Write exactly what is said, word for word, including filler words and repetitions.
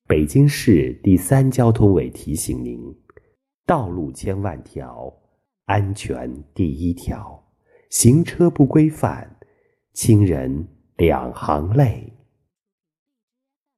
北京市第三交通委提醒您：道路千万条，安全第一条。行车不规范，亲人两行泪。